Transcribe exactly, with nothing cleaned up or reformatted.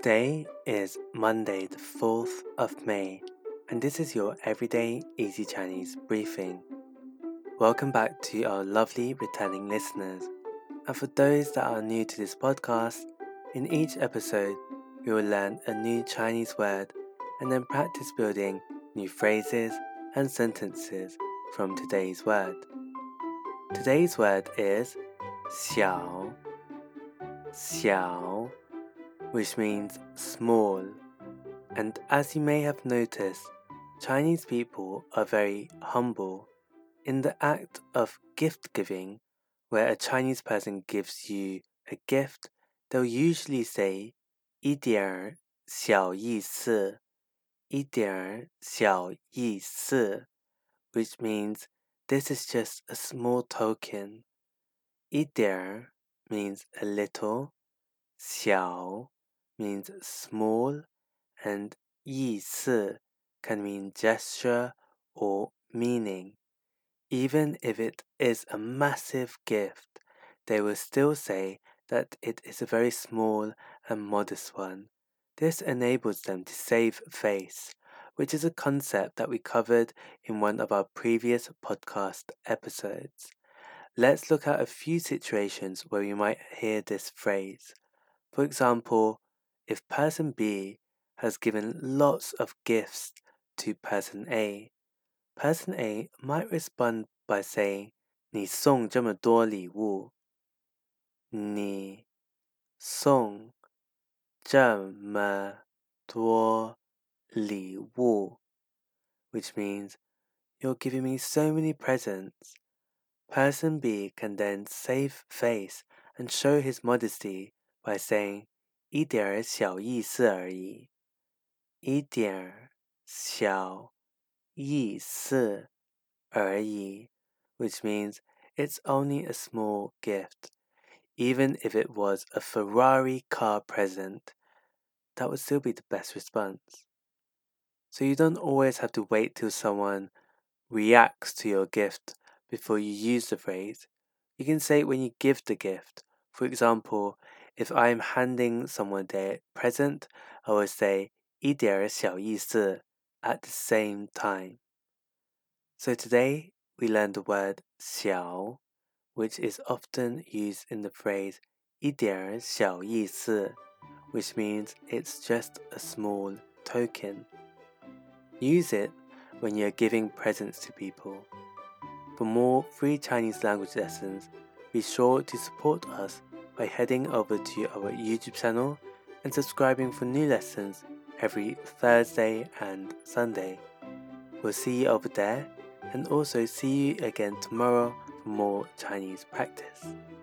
Today is Monday, the fourth of May, and this is your Everyday Easy Chinese briefing. Welcome back to our lovely returning listeners. And for those that are new to this podcast, in each episode, we will learn a new Chinese word and then practice building new phrases and sentences from today's word. Today's word is 小, 小, which means small. And as you may have noticed, Chinese people are very humble. In the act of gift giving, where a Chinese person gives you a gift, they'll usually say 一点小意思,一点小意思, which means this is just a small token. 一点 means a little, 小 means small, and 意思 can mean gesture or meaning. Even if it is a massive gift, they will still say that it is a very small and modest one. This enables them to save face, which is a concept that we covered in one of our previous podcast episodes. Let's look at a few situations where you might hear this phrase. For example, if person B has given lots of gifts to person A, person A might respond by saying, 你送这么多礼物。你送这么多礼物, which means you're giving me so many presents. Person B can then save face and show his modesty by saying, 一点小意思而已。一点小意思而已, which means it's only a small gift. Even if it was a Ferrari car present, that would still be the best response. So you don't always have to wait till someone reacts to your gift before you use the phrase. You can say it when you give the gift. For example, if I'm handing someone their present, I will say 一点小意思 at the same time. So today we learned the word 小, which is often used in the phrase 一点小意思, which means it's just a small token. Use it when you're giving presents to people. For more free Chinese language lessons, be sure to support us by heading over to our YouTube channel and subscribing for new lessons every Thursday and Sunday. We'll see you over there, and also see you again tomorrow for more Chinese practice.